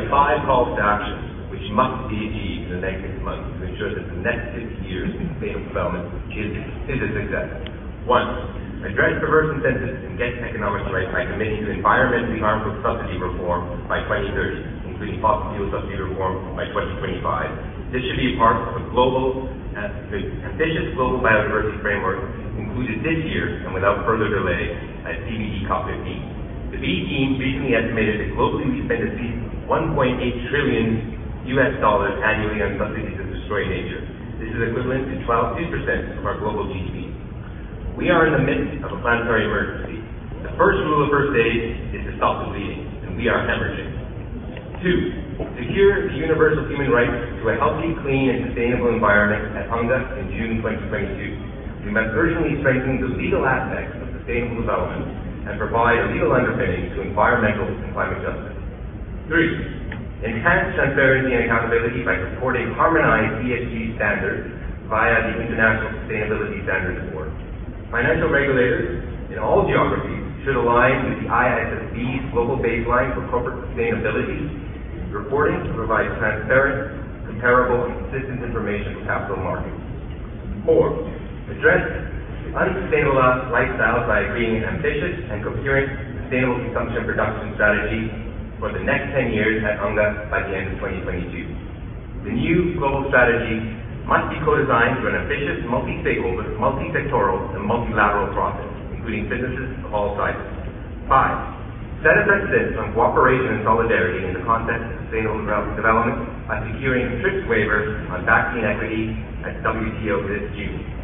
provided 5 calls to action, which must be achieved in the next 6 months to ensure that the next 50 years of sustainable development is a success. 1. Address perverse incentives and get economics right by committing to environmentally harmful subsidy reform by 2030, including fossil fuel subsidy reform by 2025. This should be a part of a ambitious global biodiversity framework included this year and without further delay at CBD COP15. The B team recently estimated that globally we spend at least $1.8 trillion annually on subsidies that destroy nature. This is equivalent to 2% of our global GDP. We are in the midst of a planetary emergency. The first rule of first aid is to stop the bleeding, and we are hemorrhaging. 2. Secure the universal human right to a healthy, clean, and sustainable environment at UNGA in June 2022. We must urgently strengthen the legal aspects of sustainable development and provide a legal underpinning to environmental and climate justice. 3. Enhance transparency and accountability by supporting harmonized ESG standards via the International Sustainability Standards Board. Financial regulators in all geographies should align with the ISSB's global baseline for corporate sustainability reporting to provide transparent, comparable, and consistent information for capital markets. 4. Address unsustainable lifestyles by agreeing an ambitious and coherent sustainable consumption production strategy for the next 10 years at UNGA by the end of 2022. The new global strategy must be co-designed through an ambitious, multi-stakeholder, multi-sectoral, and multilateral process, including businesses of all sizes. 5. Set a precedent on cooperation and solidarity in the context of sustainable development by securing TRIPS waivers on vaccine equity at WTO this June.